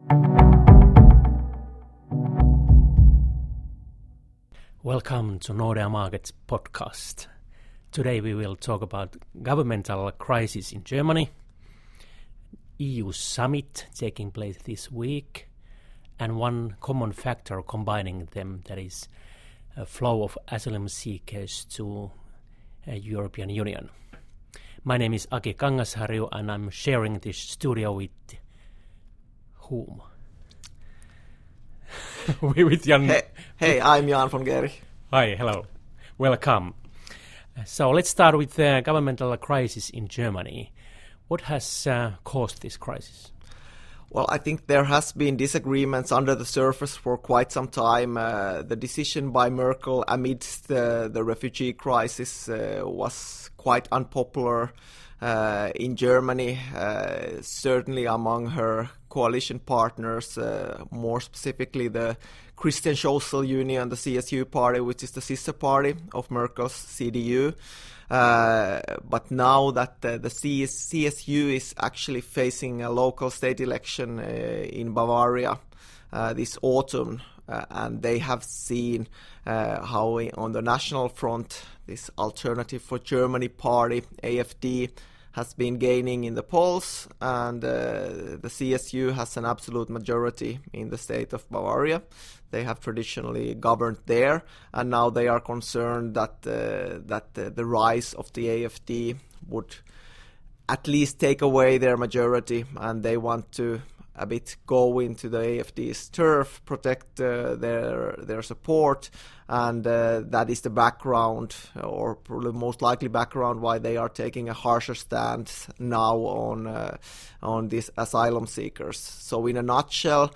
Welcome to Nordea Markets podcast. Today we will talk about governmental crisis in Germany, EU summit taking place this week, and one common factor combining them, that is a flow of asylum seekers to European Union. My name is Aki Kangasharju and I'm sharing this studio with whom? With Jan. Hey, I'm Jan von Gehrig. Hi, hello. Welcome. So let's start with the governmental crisis in Germany. What has caused this crisis? Well, I think there has been disagreements under the surface for quite some time. The decision by Merkel amidst the refugee crisis was quite unpopular in Germany, certainly among her coalition partners, more specifically the Christian Social Union, the CSU party, which is the sister party of Merkel's CDU. But now that the CSU is actually facing a local state election in Bavaria this autumn, and they have seen how on the national front this Alternative for Germany party, AfD, has been gaining in the polls, and the CSU has an absolute majority in the state of Bavaria. They have traditionally governed there, and now they are concerned that the rise of the AfD would at least take away their majority, and they want to a bit go into the AfD's turf, protect their support, and that is the background, or probably most likely background, why they are taking a harsher stance now on these asylum seekers. So in a nutshell,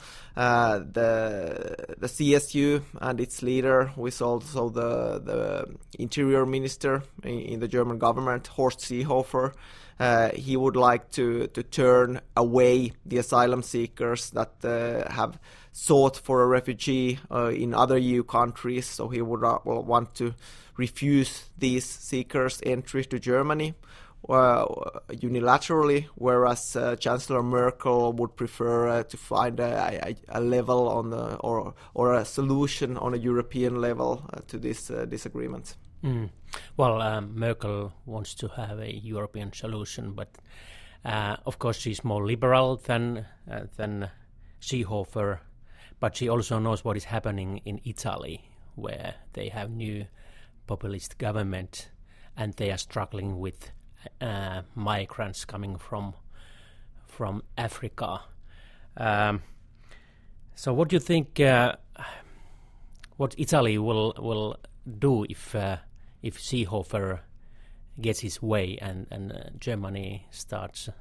the CSU and its leader, who is also the interior minister in the German government, Horst Seehofer, he would like to turn away the asylum seekers that have sought for a refugee in other EU countries. So he would want to refuse these seekers entry to Germany unilaterally, whereas Chancellor Merkel would prefer to find a level on or a solution on a European level to this disagreement. Well, Merkel wants to have a European solution, but of course she's more liberal than Seehofer, but she also knows what is happening in Italy, where they have new populist government and they are struggling with migrants coming from Africa. So what do you think? What Italy will do if Seehofer gets his way and Germany starts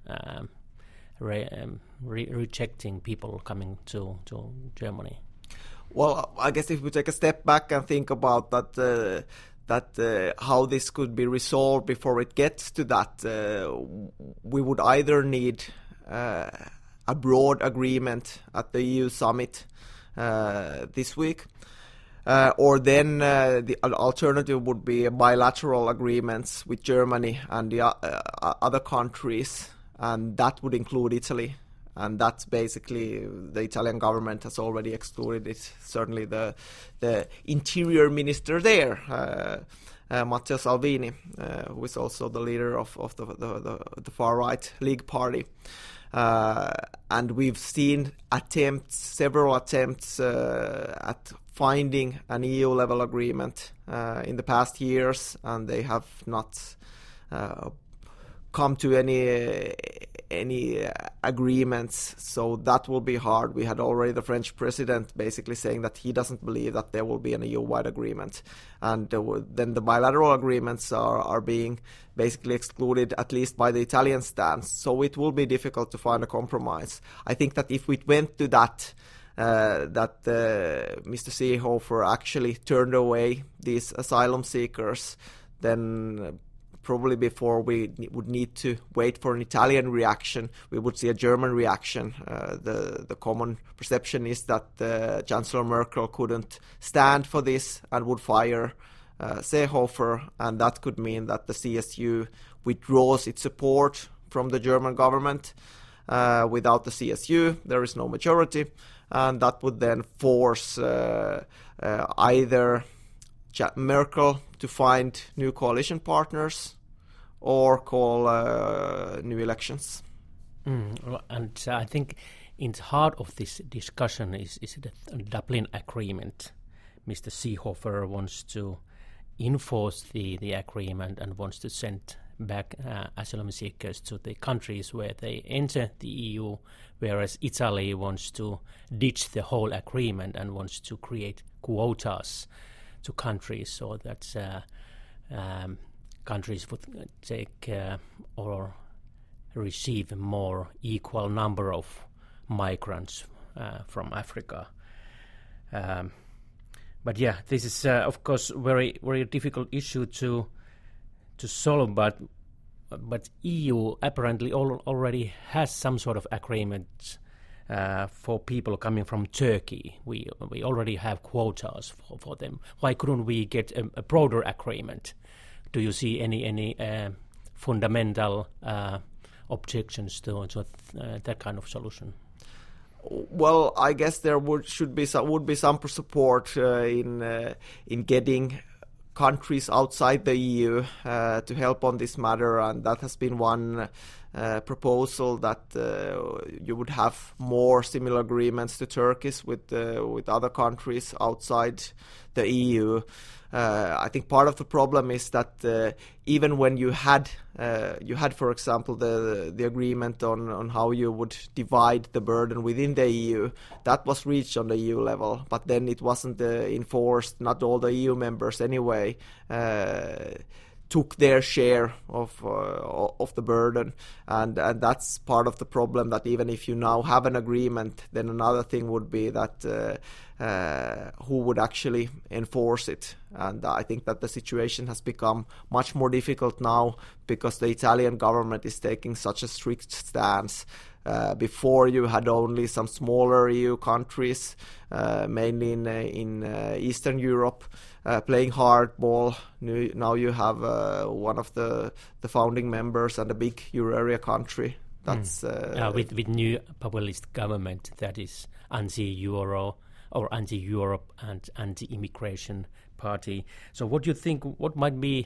rejecting people coming to Germany? Well, I guess if we take a step back and think about that, how this could be resolved before it gets to that, we would either need a broad agreement at the EU summit this week, or then the alternative would be bilateral agreements with Germany and the other countries, and that would include Italy. And that's basically, the Italian government has already excluded it. Certainly the interior minister there, Matteo Salvini, who is also the leader of the far-right League Party. And we've seen several attempts at finding an EU-level agreement in the past years, and they have not come to any agreements, so that will be hard. We had already the French president basically saying that he doesn't believe that there will be an EU-wide agreement, and then the bilateral agreements are being basically excluded, at least by the Italian stance, so it will be difficult to find a compromise. I think that if we went to that Mr. Seehofer actually turned away these asylum seekers, then probably before we would need to wait for an Italian reaction, we would see a German reaction. The common perception is that Chancellor Merkel couldn't stand for this and would fire Seehofer, and that could mean that the CSU withdraws its support from the German government. Without the CSU, there is no majority, and that would then force either Merkel to find new coalition partners or call new elections. And I think in the heart of this discussion is the Dublin Agreement. Mr. Seehofer wants to enforce the agreement and wants to send back asylum seekers to the countries where they enter the EU, whereas Italy wants to ditch the whole agreement and wants to create quotas to countries so that countries would take or receive a more equal number of migrants from Africa. But yeah, this is of course very very difficult issue to solve. But EU apparently already has some sort of agreement for people coming from Turkey. We already have quotas for them. Why couldn't we get a broader agreement? Do you see any fundamental objections to that kind of solution? Well, I guess there would be some support in getting countries outside the EU to help on this matter, and that has been one proposal that you would have more similar agreements to Turkey's with other countries outside the EU. I think part of the problem is that even when you had, for example, the agreement on how you would divide the burden within the EU, that was reached on the EU level, but then it wasn't enforced. Not all the EU members anyway took their share of the burden, and that's part of the problem. That even if you now have an agreement, then another thing would be that who would actually enforce it. And I think that the situation has become much more difficult now because the Italian government is taking such a strict stance. Before you had only some smaller EU countries, mainly in Eastern Europe, playing hardball. Now you have one of the founding members and a big euro area country. That's with new populist government that is anti-euro or anti-Europe and anti-immigration party. So what do you think? What might be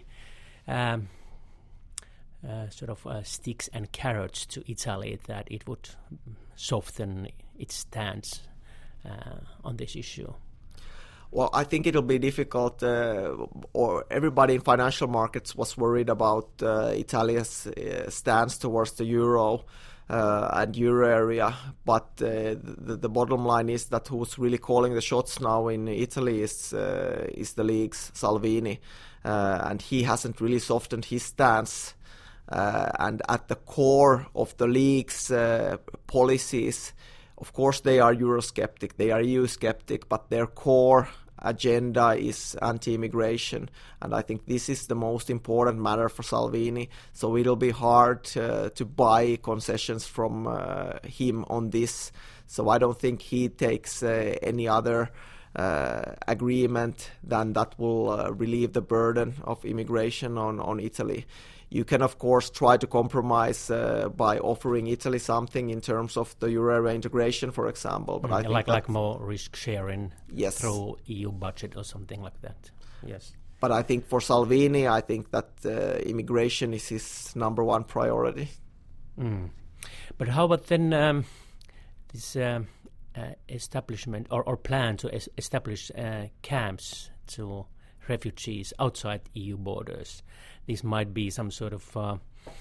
sticks and carrots to Italy that it would soften its stance on this issue? Well, I think it'll be difficult, or everybody in financial markets was worried about Italia's stance towards the euro and euro area, but the bottom line is that who's really calling the shots now in Italy is the League's Salvini, and he hasn't really softened his stance. And at the core of the League's policies, of course, they are Eurosceptic, they are EU-skeptic, but their core agenda is anti-immigration. And I think this is the most important matter for Salvini. So it'll be hard to buy concessions from him on this. So I don't think he takes any other agreement than that will relieve the burden of immigration on Italy. You can, of course, try to compromise by offering Italy something in terms of the euro area integration, for example. But I think like more risk sharing yes. through EU budget or something like that. Yes. But I think for Salvini, I think that immigration is his number one priority. But how about then this establishment or plan to establish camps to refugees outside EU borders? This might be some sort of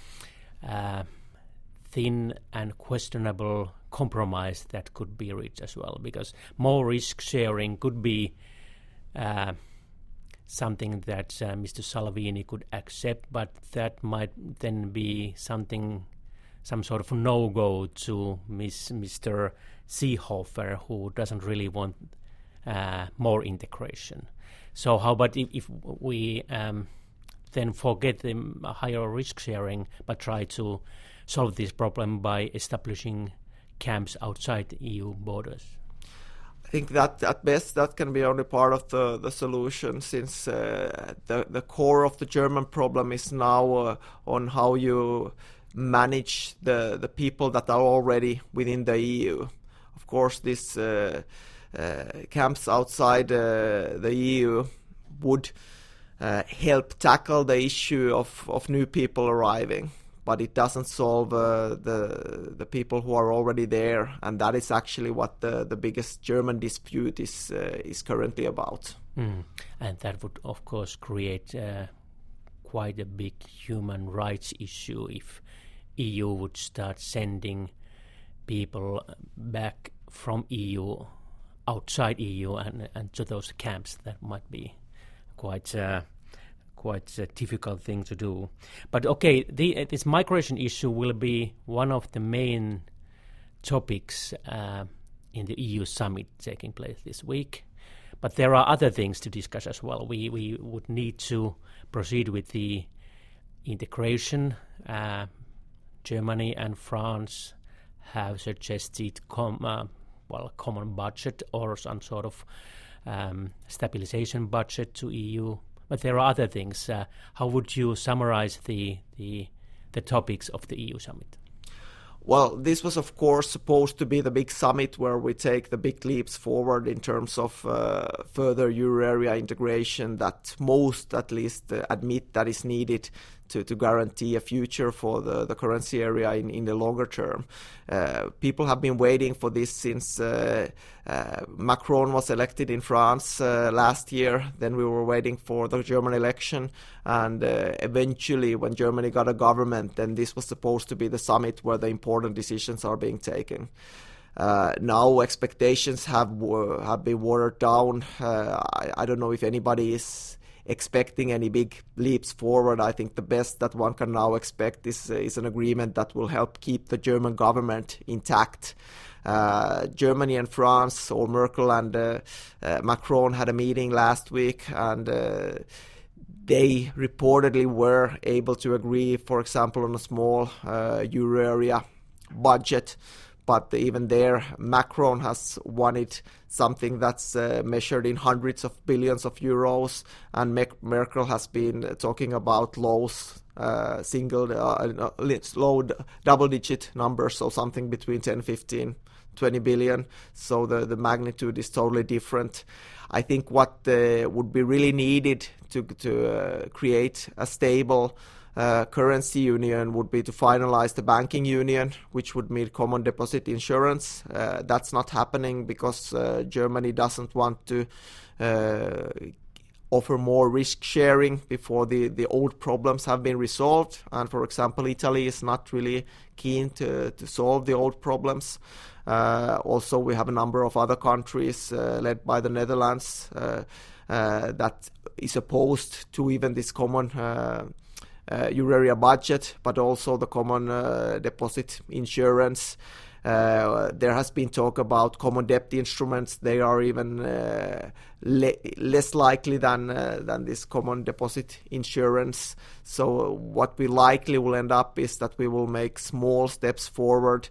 thin and questionable compromise that could be reached as well, because more risk sharing could be something that Mr. Salvini could accept, but that might then be some sort of no-go to Mr. Seehofer, who doesn't really want more integration. So how about if we then forget the higher risk sharing, but try to solve this problem by establishing camps outside EU borders? I think that at best that can be only part of the solution, since the core of the German problem is now on how you manage the people that are already within the EU. Of course, these camps outside the EU would help tackle the issue of new people arriving, but it doesn't solve the people who are already there, and that is actually what the biggest German dispute is currently about. And that would, of course, create quite a big human rights issue if EU would start sending people back from EU, outside EU, and to those camps. That might be quite a difficult thing to do. But okay, this migration issue will be one of the main topics in the EU summit taking place this week. But there are other things to discuss as well. We would need to proceed with the integration. Germany and France have suggested common budget or some sort of stabilization budget to EU. But there are other things. How would you summarize the topics of the EU summit? Well, this was, of course, supposed to be the big summit where we take the big leaps forward in terms of further euro area integration that most, at least, admit that is needed to guarantee a future for the currency area in the longer term. People have been waiting for this since Macron was elected in France last year. Then we were waiting for the German election, and eventually when Germany got a government, then this was supposed to be the summit where the important decisions are being taken. Now expectations have been watered down. I don't know if anybody is expecting any big leaps forward. I think the best that one can now expect is an agreement that will help keep the German government intact. Germany and France, or Merkel and Macron, had a meeting last week, and they reportedly were able to agree, for example, on a small euro area budget. But even there, Macron has wanted something that's measured in hundreds of billions of euros, and Merkel has been talking about low double-digit numbers, so something between 10, 15, 20 billion. So the magnitude is totally different. I think what would be really needed to create a stable currency union would be to finalize the banking union, which would mean common deposit insurance. That's not happening because Germany doesn't want to offer more risk sharing before the old problems have been resolved. And for example, Italy is not really keen to solve the old problems. Also, we have a number of other countries led by the Netherlands that is opposed to even this common euro area budget, but also the common deposit insurance. There has been talk about common debt instruments. They are even less likely than this common deposit insurance. So what we likely will end up is that we will make small steps forward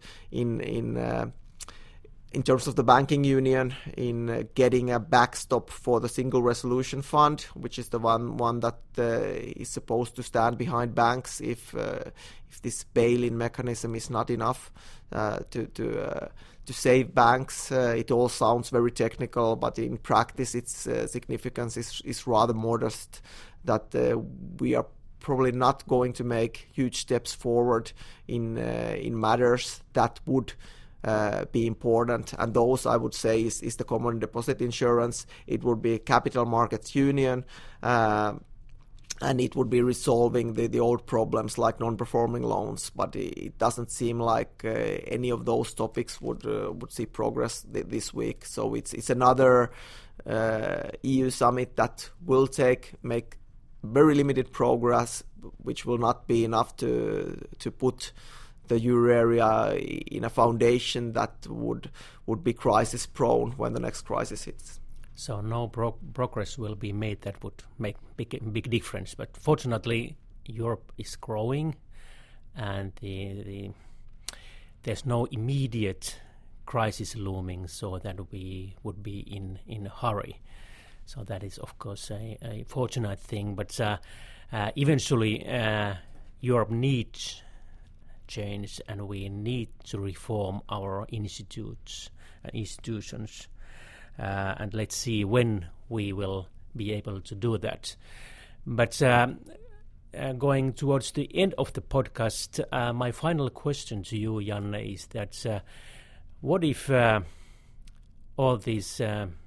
in terms of the banking union, in getting a backstop for the Single Resolution Fund, which is the one that is supposed to stand behind banks if this bail-in mechanism is not enough to save banks. It all sounds very technical, but in practice its significance is rather modest, that we are probably not going to make huge steps forward in matters that would be important, and those I would say is the common deposit insurance. It would be capital markets union, and it would be resolving the old problems like non-performing loans. But it doesn't seem like any of those topics would see progress this week. So it's another EU summit that will make very limited progress, which will not be enough to put the euro area in a foundation that would be crisis prone when the next crisis hits. So no progress will be made that would make big difference. But fortunately, Europe is growing, and there's no immediate crisis looming, so that we would be in a hurry. So that is, of course, a fortunate thing. But eventually, Europe needs change, and we need to reform our institutes and institutions. And let's see when we will be able to do that. But going towards the end of the podcast, my final question to you, Janne, is that what if all these,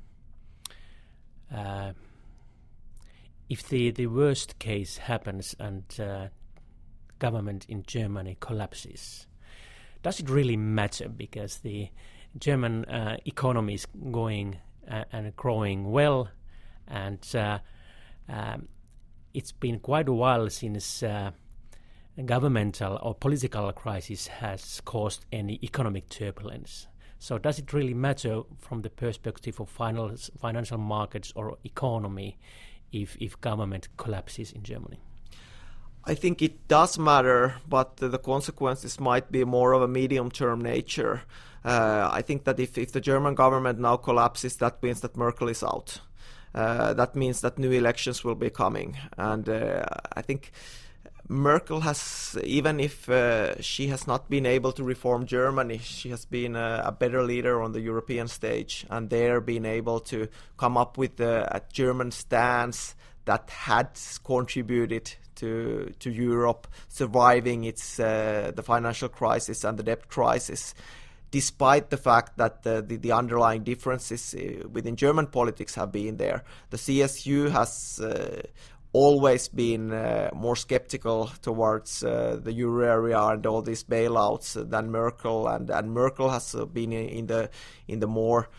if the worst case happens and government in Germany collapses, does it really matter? Because the German economy is going and growing well, and it's been quite a while since governmental or political crisis has caused any economic turbulence. So does it really matter from the perspective of financial markets or economy if government collapses in Germany? I think it does matter, but the consequences might be more of a medium-term nature. I think that if the German government now collapses, that means that Merkel is out. That means that new elections will be coming. And I think Merkel has, even if she has not been able to reform Germany, she has been a better leader on the European stage, and there been able to come up with a German stance that had contributed to Europe surviving the financial crisis and the debt crisis, despite the fact that the underlying differences within German politics have been there. The CSU has always been more skeptical towards the euro area and all these bailouts than Merkel, and Merkel has been in the more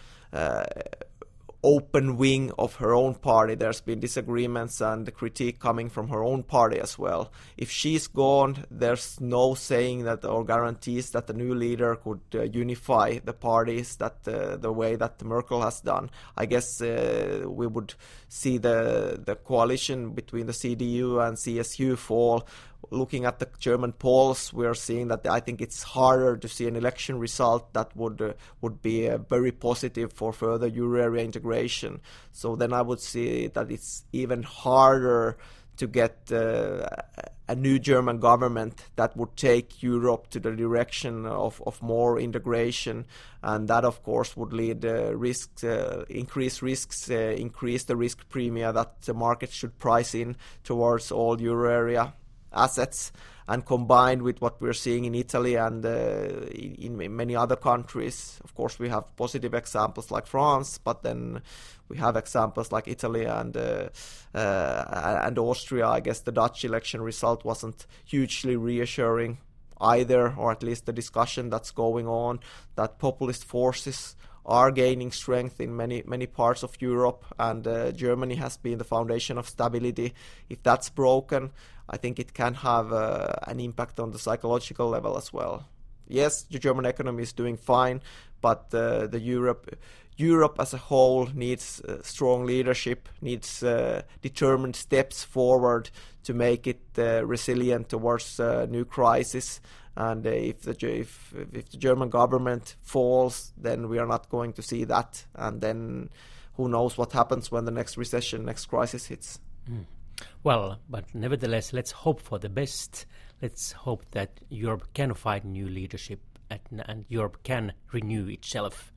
open wing of her own party. There's been disagreements and critique coming from her own party as well. If she's gone, there's no saying that or guarantees that the new leader could unify the parties that the way that Merkel has done. I guess we would see the coalition between the CDU and CSU fall. Looking at the German polls, we are seeing that I think it's harder to see an election result that would be very positive for further euro area integration. So then I would see that it's even harder to get a new German government that would take Europe to the direction of more integration, and that of course would lead increase risks, increase the risk premium that the market should price in towards all euro area assets, and combined with what we're seeing in Italy and in many other countries. Of course, we have positive examples like France, but then we have examples like Italy and Austria. I guess the Dutch election result wasn't hugely reassuring either, or at least the discussion that's going on, that populist forces are gaining strength in many parts of Europe, and Germany has been the foundation of stability. If that's broken, I think it can have an impact on the psychological level as well. Yes, the German economy is doing fine, but the Europe as a whole needs strong leadership, needs determined steps forward to make it resilient towards new crisis. And if the German government falls, then we are not going to see that. And then who knows what happens when the next recession, next crisis hits. Well, but nevertheless, let's hope for the best. Let's hope that Europe can find new leadership and Europe can renew itself.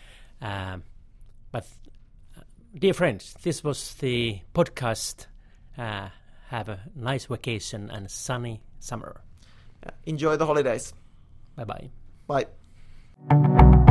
But dear friends, this was the podcast. Have a nice vacation and sunny summer. Enjoy the holidays. Bye-bye. Bye.